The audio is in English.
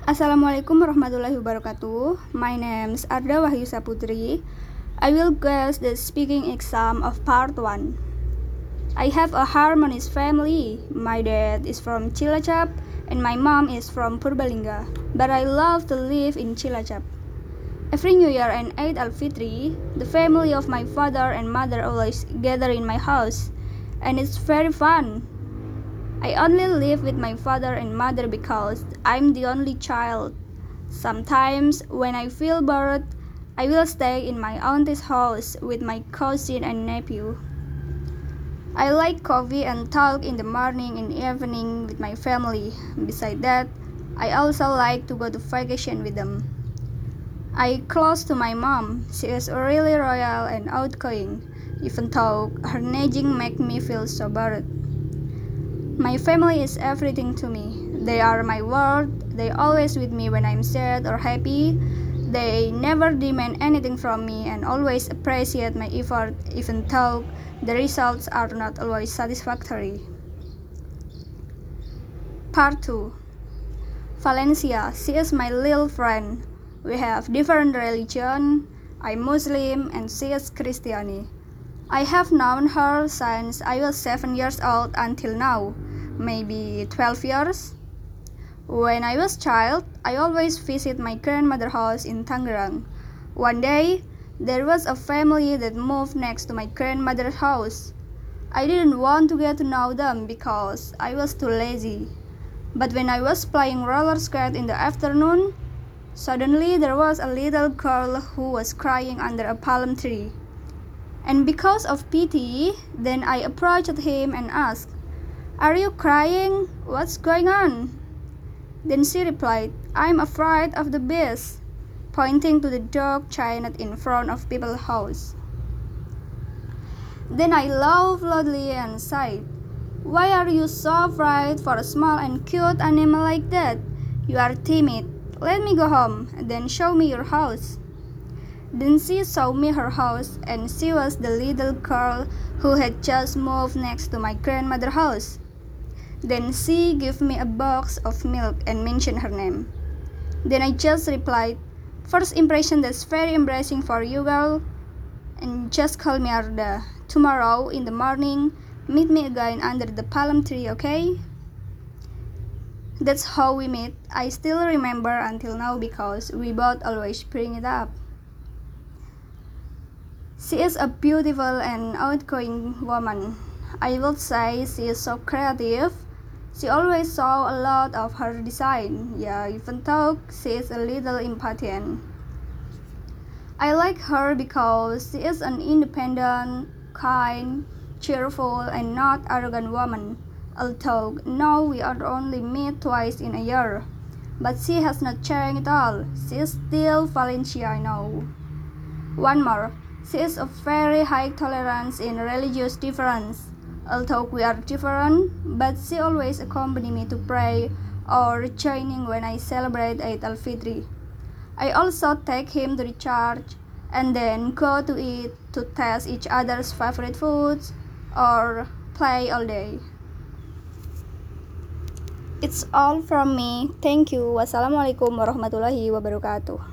Assalamualaikum warahmatullahi wabarakatuh. My name is Arda Wahyu Saputri. I will guess the speaking exam of part 1. I have a harmonious family. My dad is from Cilacap and my mom is from Purbalingga, but I love to live in Cilacap. Every New Year and Eid al-Fitri, the family of my father and mother always gather in my house, and it's very fun. I only live with my father and mother because I'm the only child. Sometimes, when I feel bored, I will stay in my auntie's house with my cousin and nephew. I like coffee and talk in the morning and evening with my family. Besides that, I also like to go to vacation with them. I close to my mom. She is really royal and outgoing, even though her nagging makes me feel so bored. My family is everything to me. They are my world. They always with me when I'm sad or happy. They never demand anything from me and always appreciate my effort even though the results are not always satisfactory. Part 2. Valencia. She is my little friend. We have different religion. I'm Muslim and she is Christian. I have known her since I was 7 years old until now, maybe 12 years. When I was a child, I always visit my grandmother's house in Tangerang. One day, there was a family that moved next to my grandmother's house. I didn't want to get to know them because I was too lazy. But when I was playing roller skate in the afternoon, suddenly there was a little girl who was crying under a palm tree. And because of pity, then I approached him and asked, "Are you crying? What's going on?" Then she replied, "I'm afraid of the beast," pointing to the dog chained in front of people's house. Then I laughed loudly and said, "Why are you so afraid for a small and cute animal like that? You are timid. Let me go home, and then show me your house." Then she showed me her house, and she was the little girl who had just moved next to my grandmother's house. Then she gave me a box of milk and mentioned her name. Then I just replied, "First impression, that's very embarrassing for you, girl. And just call me Arda. Tomorrow in the morning, meet me again under the palm tree, okay?" That's how we met. I still remember until now because we both always bring it up. She is a beautiful and outgoing woman. I would say she is so creative. She always saw a lot of her design, even though she is a little impatient. I like her because she is an independent, kind, cheerful, and not arrogant woman. Although now we are only meet twice in a year, but she has not changed at all. She is still Valencia, I know. One more. She is a very high tolerance in religious difference. Although we are different, but she always accompany me to pray or joining when I celebrate Eid al-Fitri. I also take him to the church and then go to eat to taste each other's favorite foods or play all day. It's all from me. Thank you. Wassalamualaikum warahmatullahi wabarakatuh.